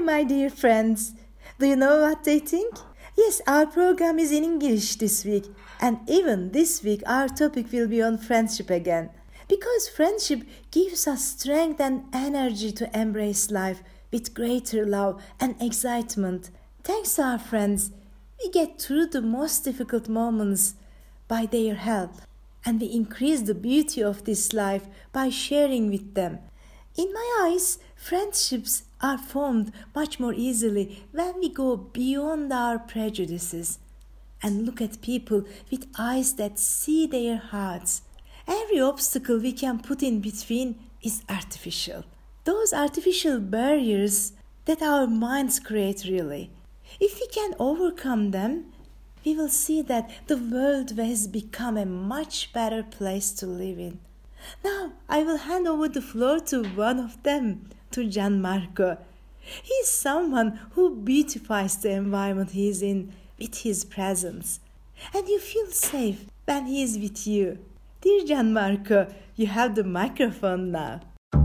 my dear friends. Do you know what they think? Yes, our program is in English this week, and even this week our topic will be on friendship again. Because friendship gives us strength and energy to embrace life with greater love and excitement. Thanks to our friends, we get through the most difficult moments by their help, and we increase the beauty of this life by sharing with them. In my eyes, friendships are formed much more easily when we go beyond our prejudices and look at people with eyes that see their hearts. Every obstacle we can put in between is artificial. Those artificial barriers that our minds create really. If we can overcome them, we will see that the world has become a much better place to live in. Now, I will hand over the floor to one of them, to Gianmarco. He is someone who beautifies the environment he is in with his presence. And you feel safe when he is with you. Dear Gianmarco, you have the microphone now.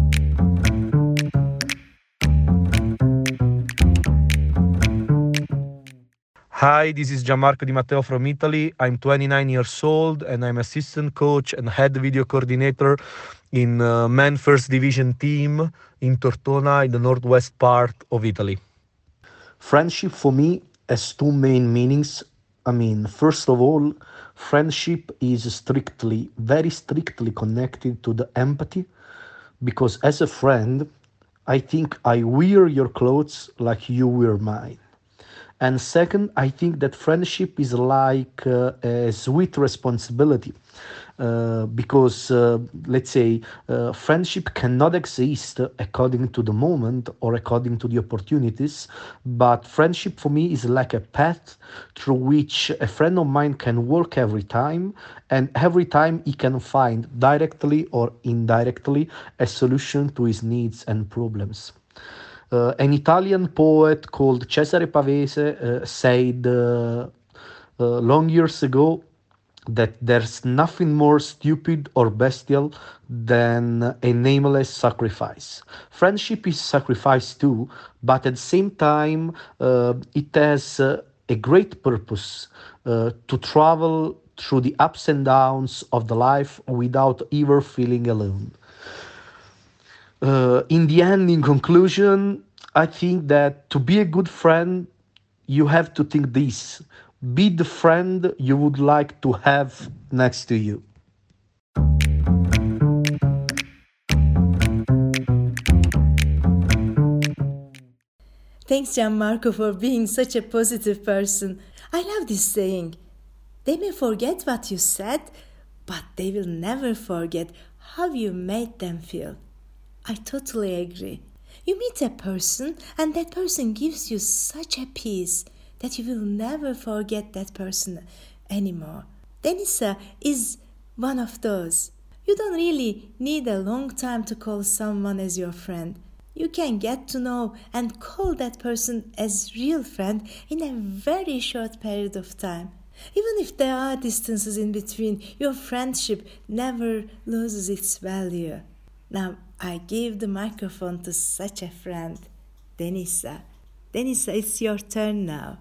Hi, this is Gianmarco Di Matteo from Italy. I'm 29 years old and I'm assistant coach and head video coordinator in Men First Division team in Tortona in the northwest part of Italy. Friendship for me has two main meanings. First of all, friendship is very strictly connected to the empathy because as a friend, I think I wear your clothes like you wear mine. And second, I think that friendship is like a sweet responsibility because, let's say, friendship cannot exist according to the moment or according to the opportunities. But friendship for me is like a path through which a friend of mine can work every time. And every time he can find directly or indirectly a solution to his needs and problems. An Italian poet called Cesare Pavese said long years ago that there's nothing more stupid or bestial than a nameless sacrifice. Friendship is sacrifice too, but at the same time, it has a great purpose to travel through the ups and downs of the life without ever feeling alone. In the end, in conclusion, I think that to be a good friend, you have to think this: be the friend you would like to have next to you. Thanks, Gianmarco, for being such a positive person. I love this saying. They may forget what you said, but they will never forget how you made them feel. I totally agree. You meet a person and that person gives you such a peace that you will never forget that person anymore. Denisa is one of those. You don't really need a long time to call someone as your friend. You can get to know and call that person as real friend in a very short period of time. Even if there are distances in between, your friendship never loses its value. Now, I give the microphone to such a friend, Denisa. Denisa, it's your turn now.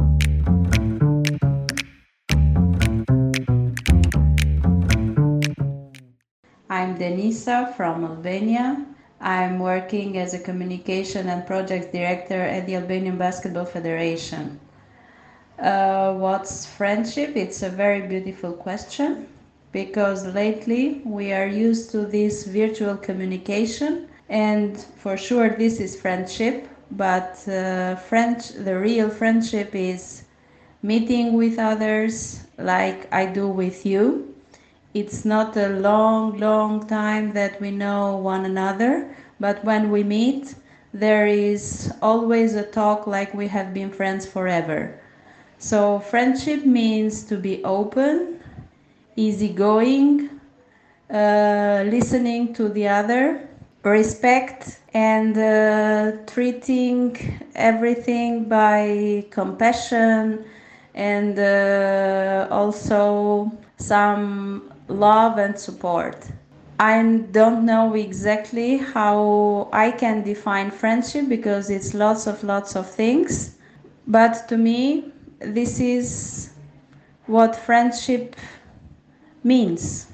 I'm Denisa from Albania. I'm working as a communication and project director at the Albanian Basketball Federation. What's friendship? It's a very beautiful question because lately we are used to this virtual communication, and for sure this is friendship, but the real friendship is meeting with others like I do with you. It's not a long time that we know one another, but when we meet, there is always a talk like we have been friends forever. So friendship means to be open, easygoing, listening to the other, respect, and treating everything by compassion, and also some love and support. I don't know exactly how I can define friendship because it's lots of things. But to me, this is what friendship means.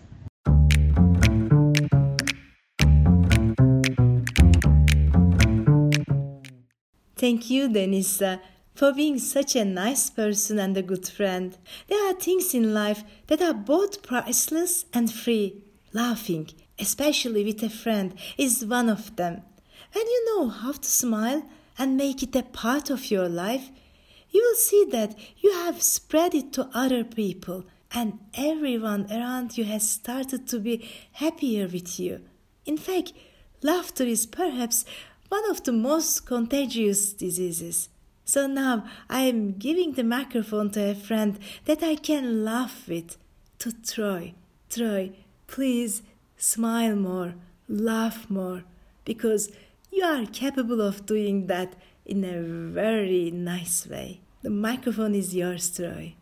Thank you, Denisa, for being such a nice person and a good friend. There are things in life that are both priceless and free. Laughing, especially with a friend, is one of them. When you know how to smile and make it a part of your life, you will see that you have spread it to other people, and everyone around you has started to be happier with you. In fact, laughter is perhaps one of the most contagious diseases. So now I am giving the microphone to a friend that I can laugh with, to Troy. Troy, please smile more, laugh more, because you are capable of doing that in a very nice way. The microphone is yours, Troy.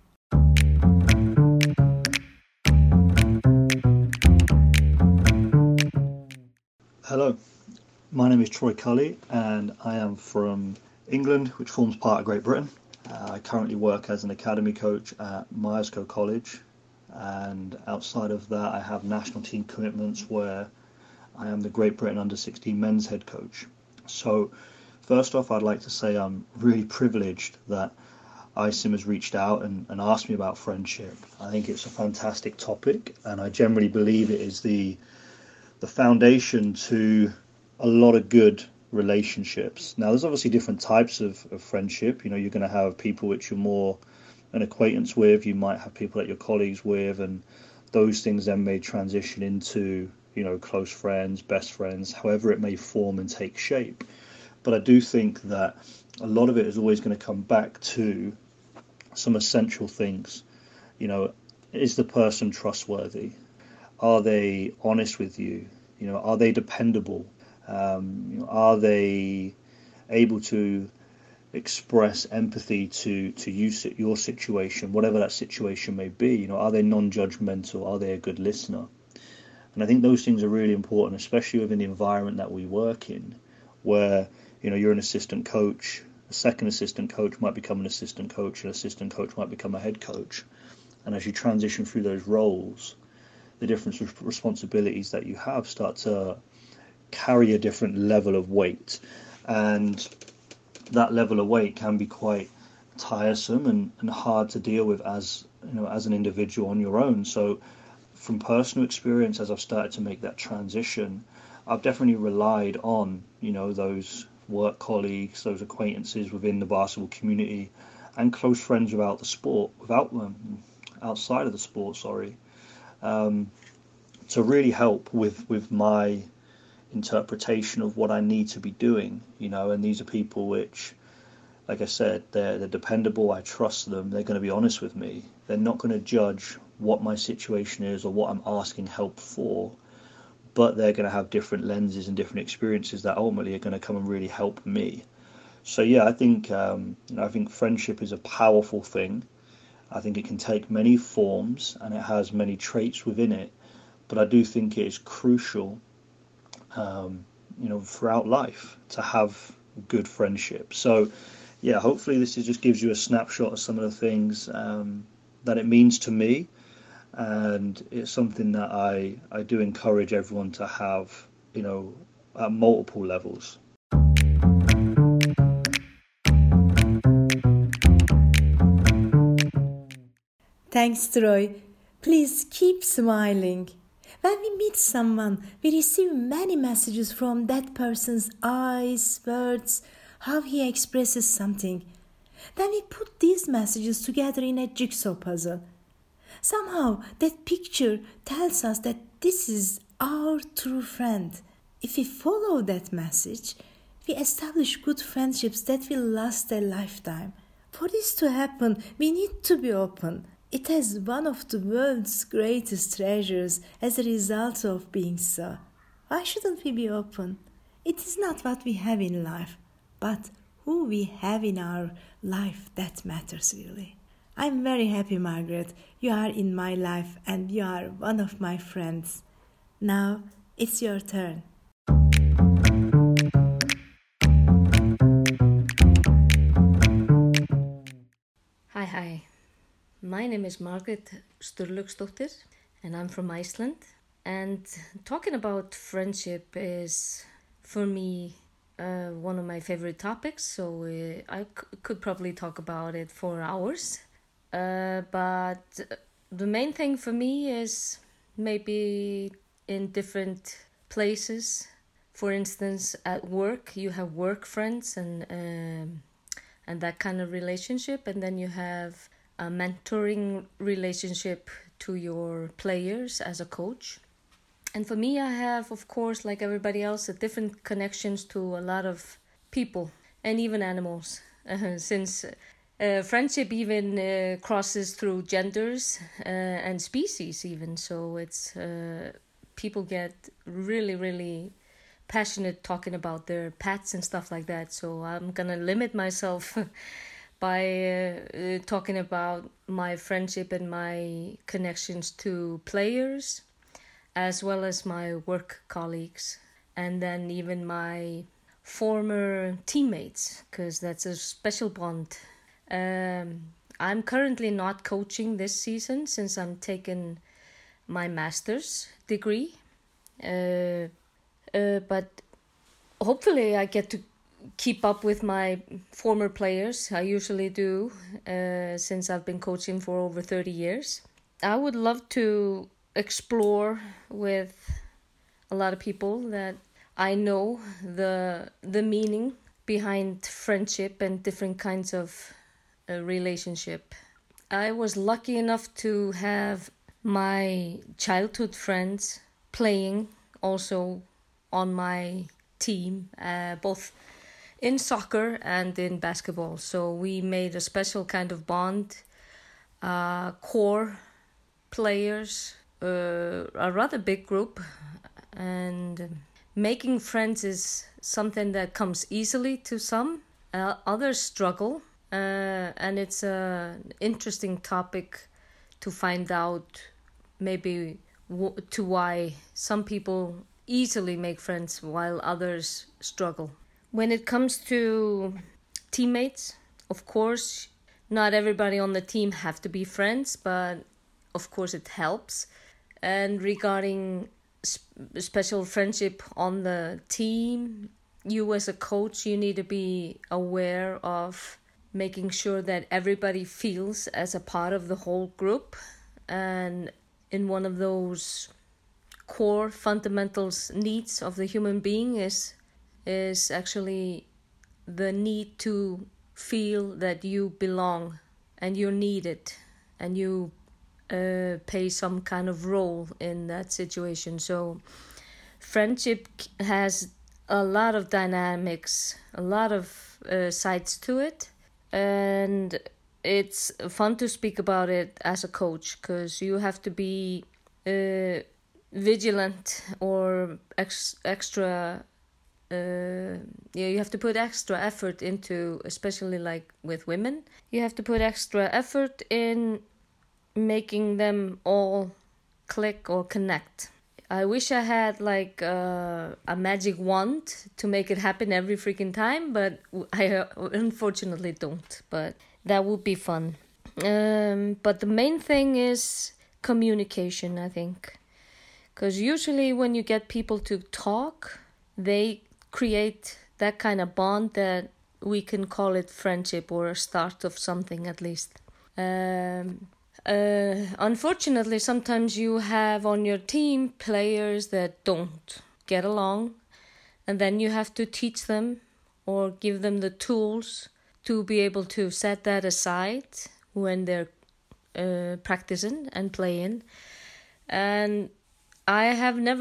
Hello, my name is Troy Cully and I am from England, which forms part of Great Britain. I currently work as an academy coach at Myerscough College, and outside of that I have national team commitments where I am the Great Britain under-16 men's head coach. So first off, I'd like to say I'm really privileged that ISIM has reached out and asked me about friendship. I think it's a fantastic topic, and I generally believe it is the foundation to a lot of good relationships. Now, there's obviously different types of friendship. You know, you're going to have people which you're more an acquaintance with. You might have people that you're colleagues with, and those things then may transition into, you know, close friends, best friends, however it may form and take shape. But I do think that a lot of it is always going to come back to some essential things. You know, is the person trustworthy? Are they honest with you? You know, are they dependable? Are they able to express empathy to your situation, whatever that situation may be? You know, are they non-judgmental? Are they a good listener? And I think those things are really important, especially within the environment that we work in, where, you know, you're an assistant coach, a second assistant coach might become an assistant coach, an assistant coach might become a head coach. And as you transition through those roles, the different responsibilities that you have start to carry a different level of weight, and that level of weight can be quite tiresome and hard to deal with as, you know, as an individual on your own. So from personal experience, as I've started to make that transition, I've definitely relied on, you know, those work colleagues, those acquaintances within the basketball community, and close friends outside of the sport, to really help with my interpretation of what I need to be doing, you know. And these are people which, like I said, they're dependable. I trust them. They're going to be honest with me. They're not going to judge what my situation is or what I'm asking help for, but they're going to have different lenses and different experiences that ultimately are going to come and really help me. So yeah, I think I think friendship is a powerful thing. I think it can take many forms and it has many traits within it, but I do think it is crucial, you know, throughout life to have good friendship. So yeah, hopefully this just gives you a snapshot of some of the things that it means to me, and it's something that I do encourage everyone to have, you know, at multiple levels. Thanks, Troy. Please keep smiling. When we meet someone, we receive many messages from that person's eyes, words, how he expresses something. Then we put these messages together in a jigsaw puzzle. Somehow that picture tells us that this is our true friend. If we follow that message, we establish good friendships that will last a lifetime. For this to happen, we need to be open. It has one of the world's greatest treasures as a result of being so. Why shouldn't we be open? It is not what we have in life, but who we have in our life that matters really. I'm very happy, Margaret. You are in my life and you are one of my friends. Now, It's your turn. Hi. My name is Margrét Sturlaugsdóttir and I'm from Iceland. And talking about friendship is, for me, one of my favorite topics. So I could probably talk about it for hours. But the main thing for me is maybe in different places. For instance, at work, you have work friends and that kind of relationship, and then you have a mentoring relationship to your players as a coach. And for me, I have, of course, like everybody else, different connections to a lot of people and even animals, since friendship even crosses through genders and species even. So it's people get really, really passionate talking about their pets and stuff like that. So I'm gonna limit myself by talking about my friendship and my connections to players, as well as my work colleagues, and then even my former teammates, because that's a special bond. I'm currently not coaching this season since I'm taking my master's degree. But hopefully I get to keep up with my former players. I usually do, since I've been coaching for over 30 years. I would love to explore with a lot of people that I know the meaning behind friendship and different kinds of relationship. I was lucky enough to have my childhood friends playing also on my team, both in soccer and in basketball. So we made a special kind of bond, core players, a rather big group, and making friends is something that comes easily to some. Others struggle, and it's an interesting topic to find out maybe to why some people easily make friends while others struggle. When it comes to teammates, of course, not everybody on the team have to be friends, but of course it helps. And regarding special friendship on the team, you as a coach, you need to be aware of making sure that everybody feels as a part of the whole group. And in one of those core fundamentals needs of the human being is actually the need to feel that you belong and you're needed and you play some kind of role in that situation. So friendship has a lot of dynamics, a lot of sides to it, and it's fun to speak about it as a coach because you have to be vigilant or extra you have to put extra effort into, especially like with women, you have to put extra effort in making them all click or connect. I wish I had like a magic wand to make it happen every freaking time, but I unfortunately don't, but that would be fun. But the main thing is communication, I think. Because usually when you get people to talk, they create that kind of bond that we can call it friendship or a start of something at least. Unfortunately, sometimes you have on your team players that don't get along, and then you have to teach them or give them the tools to be able to set that aside when they're practicing and playing. And I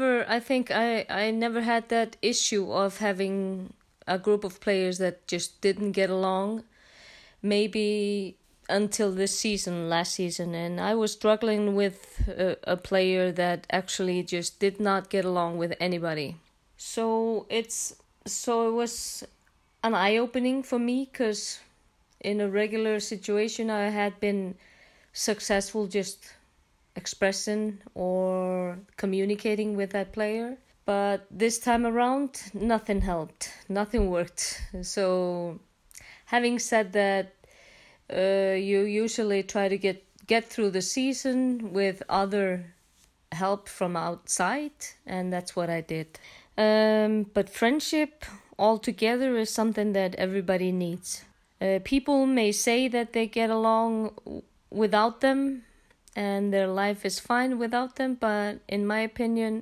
never had that issue of having a group of players that just didn't get along, maybe until last season, and I was struggling with a player that actually just did not get along with anybody. So it was an eye-opening for me, because in a regular situation I had been successful just expressing or communicating with that player. But this time around, nothing helped. Nothing worked. So, having said that, you usually try to get through the season with other help from outside, and that's what I did. But friendship altogether is something that everybody needs. People may say that they get along without them and their life is fine without them, but in my opinion,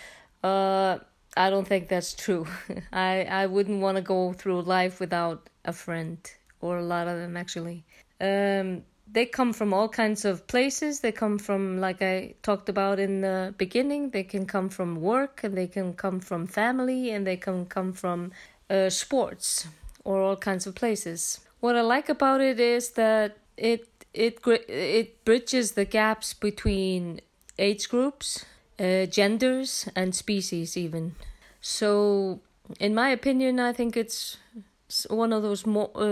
I don't think that's true. I wouldn't want to go through life without a friend, or a lot of them actually. They come from all kinds of places. They come from, like I talked about in the beginning, they can come from work, and they can come from family, and they can come from sports, or all kinds of places. What I like about it is that it bridges the gaps between age groups, genders, and species even. So, in my opinion, I think it's one of those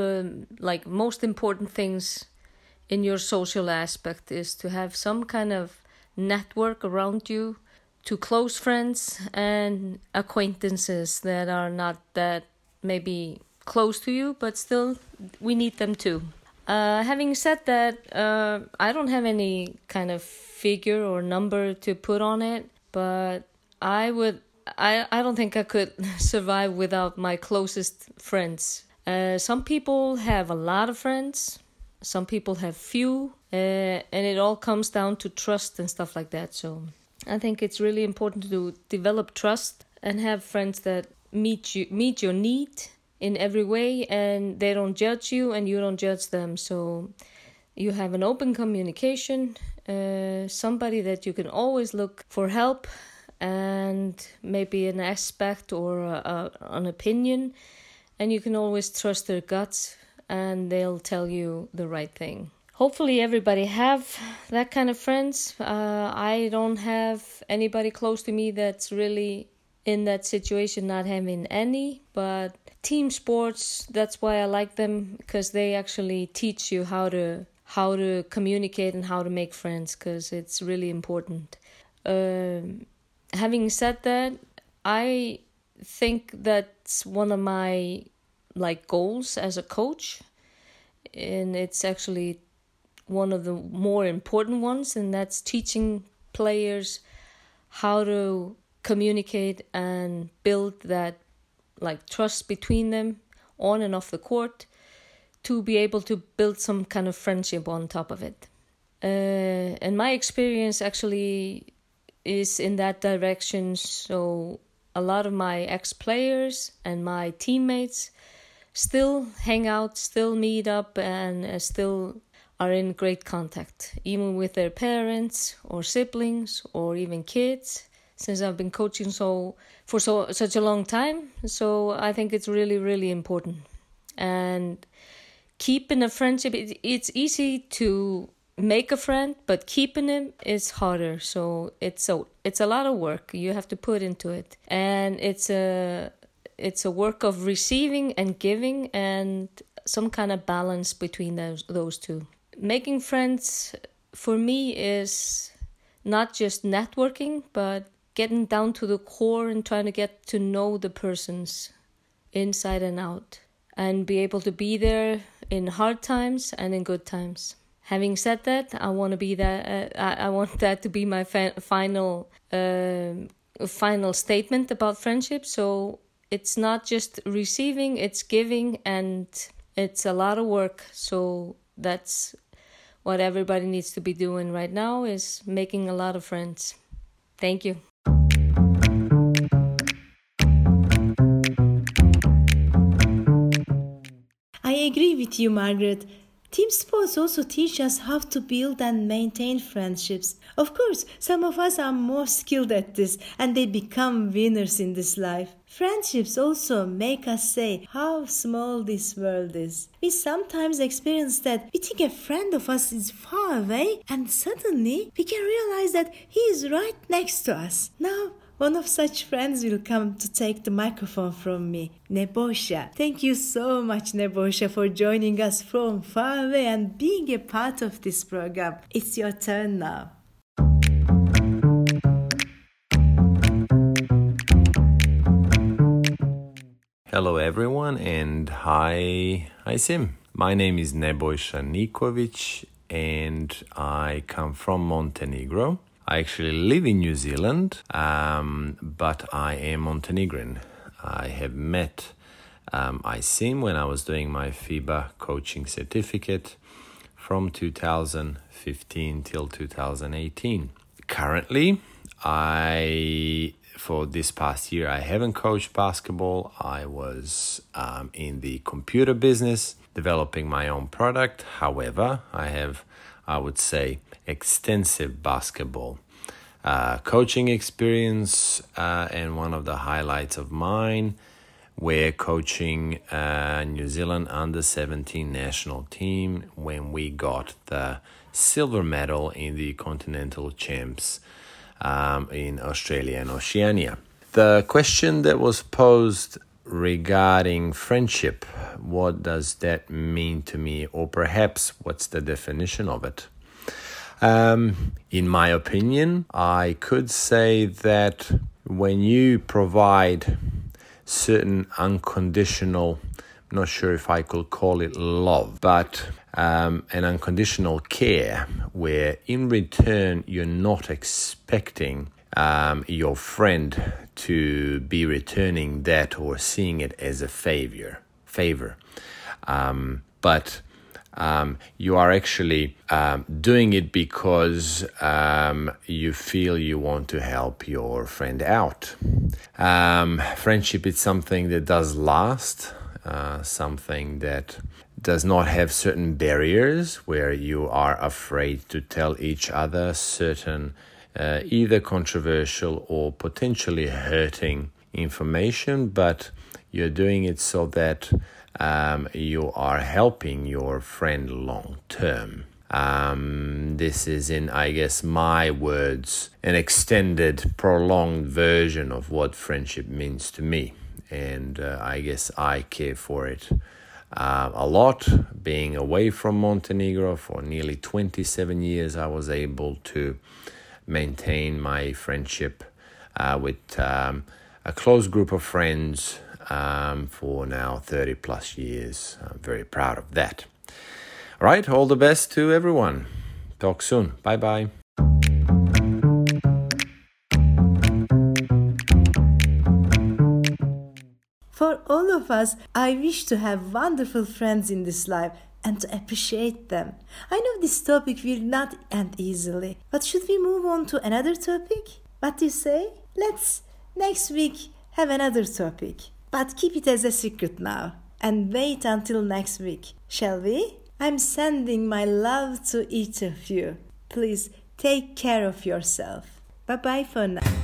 most important things in your social aspect is to have some kind of network around you, to close friends and acquaintances that are not that maybe close to you, but still we need them too. Having said that, I don't have any kind of figure or number to put on it, but I don't think I could survive without my closest friends. Some people have a lot of friends, some people have few, and it all comes down to trust and stuff like that. So I think it's really important to develop trust and have friends that meet your need in every way, and they don't judge you and you don't judge them. So you have an open communication, somebody that you can always look for help and maybe an aspect or an opinion, and you can always trust their guts and they'll tell you the right thing. Hopefully everybody have that kind of friends. I don't have anybody close to me that's really in that situation, not having any, but team sports, that's why I like them, because they actually teach you how to communicate and how to make friends, because it's really important. Having said that, I think that's one of my goals as a coach, and it's actually one of the more important ones, and that's teaching players how to communicate and build that trust between them on and off the court, to be able to build some kind of friendship on top of it. And my experience actually is in that direction. So a lot of my ex-players and my teammates still hang out, still meet up, and still are in great contact, even with their parents or siblings or even kids, since I've been coaching for such a long time. So I think it's really, really important. And keeping a friendship, it's easy to make a friend, but keeping him is harder. So it's a lot of work you have to put into it, and it's a work of receiving and giving, and some kind of balance between those two. Making friends for me is not just networking, but getting down to the core and trying to get to know the persons inside and out, and be able to be there in hard times and in good times. Having said that, I want to be that. I want that to be my final statement about friendship. So it's not just receiving; it's giving, and it's a lot of work. So that's what everybody needs to be doing right now, is making a lot of friends. Thank you. I agree with you, Margaret. Team sports also teach us how to build and maintain friendships. Of course, some of us are more skilled at this, and they become winners in this life. Friendships also make us say how small this world is. We sometimes experience that we think a friend of us is far away, and suddenly we can realize that he is right next to us. Now, one of such friends will come to take the microphone from me, Nebosha. Thank you so much, Nebosha, for joining us from far away and being a part of this program. It's your turn now. Hello everyone, and hi Sim. My name is Nebojša Niković and I come from Montenegro. I actually live in New Zealand, but I am Montenegrin. I have met Sim when I was doing my FIBA coaching certificate from 2015 till 2018. Currently, for this past year, I haven't coached basketball. I was in the computer business, developing my own product. However, I have, I would say, extensive basketball coaching experience, and one of the highlights of mine were coaching New Zealand under-17 national team when we got the silver medal in the Continental Champs in Australia and Oceania. The question that was posed regarding friendship, what does that mean to me, or perhaps what's the definition of it? In my opinion, I could say that when you provide certain unconditional, I'm not sure if I could call it love, but an unconditional care where in return you're not expecting your friend to be returning that or seeing it as a favor. But you are actually doing it because you feel you want to help your friend out. Friendship is something that does last, something that does not have certain barriers where you are afraid to tell each other certain either controversial or potentially hurting information, but you're doing it so that you are helping your friend long term. This is, in, I guess, my words, an extended, prolonged version of what friendship means to me. And I guess I care for it a lot. Being away from Montenegro for nearly 27 years, I was able to maintain my friendship with a close group of friends for now 30 plus years. I'm very proud of that. All right, all the best to everyone. Talk soon. Bye-bye. For all of us, I wish to have wonderful friends in this life and to appreciate them. I know this topic will not end easily, but should we move on to another topic? What do you say? Let's next week have another topic, but keep it as a secret now and wait until next week, shall we? I'm sending my love to each of you. Please take care of yourself. Bye-bye for now.